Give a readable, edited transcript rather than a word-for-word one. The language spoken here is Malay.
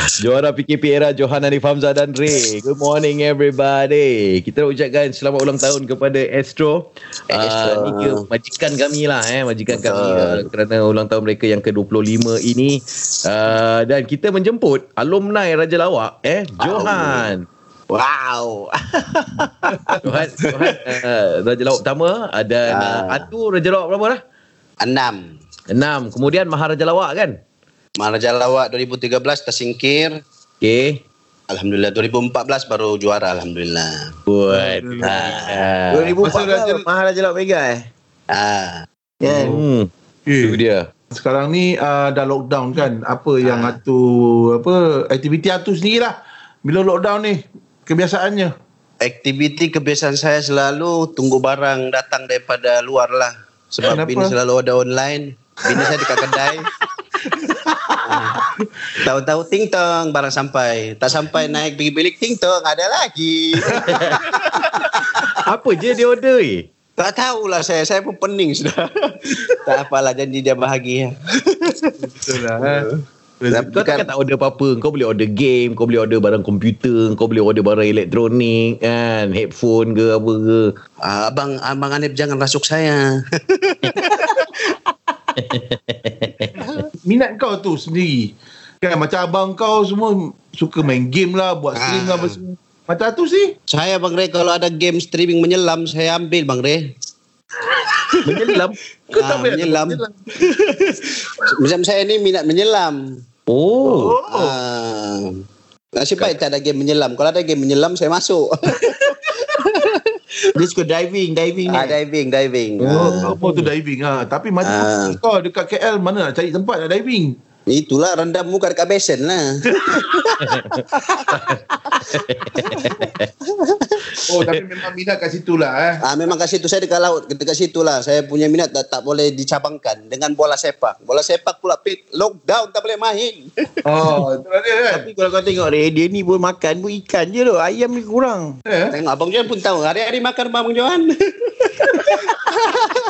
Juara PKP era Johan Hanif Hamzah dan Ray. Good morning everybody. Kita nak ucapkan selamat ulang tahun kepada Astro. Ni ke majikan kami lah majikan kami kerana ulang tahun mereka yang ke-25 ini. Dan kita menjemput alumni Raja Lawak Johan. Wow. Johan Raja Lawak pertama dan Atu Raja Lawak berapa dah? 6. Kemudian Maharaja Lawak kan? Maharaja Lawak 2013 tersingkir. Okey. Alhamdulillah 2014 baru juara alhamdulillah. 2014 Maharaja Lawak Mega Itu dia. Sekarang ni dah lockdown kan. Apa yang aktiviti Atu sendirilah. Bila lockdown ni kebiasaannya? Aktiviti kebiasaan saya selalu tunggu barang datang daripada luar lah. Sebab bini selalu ada online. Bini saya dekat kedai. Tahu-tahu ting tong barang sampai. Tak sampai naik pergi bilik ting tong ada lagi. Apa je dia order Tak tahulah saya pun pening sudah. Tak apalah janji dia bahagia. Betul lah. Kau takkan tak order apa-apa. Kau boleh order game, kau boleh order barang komputer, kau boleh order barang elektronik kan, headphone ke apa ke. Abang Hanif jangan rasuk saya. Minat kau tu sendiri kan, macam abang kau semua suka main game lah, buat stream lah semua. Macam tu sih saya Bang Ray, kalau ada game streaming menyelam saya ambil Bang Ray. Menyelam? Kau tak boleh menyelam. Macam saya ni minat menyelam. Nasib baik tak ada game menyelam. Kalau ada game menyelam saya masuk. Dia suka diving ni. Diving. Apa tu diving Tapi macam kau dekat KL mana nak cari tempat nak diving? Itulah rendam muka dekat besen lah. Tapi memang minat kat situ lah Memang kat situ, saya dekat laut, dekat situ lah. Saya punya minat tak boleh dicabangkan dengan bola sepak. Bola sepak pula lockdown tak boleh main. Itulah dia kan. Tapi kalau kau tengok dia ni pun makan pun ikan je tu. Ayam ni kurang. Tengok Abang Johan pun tahu hari-hari makan Abang Johan.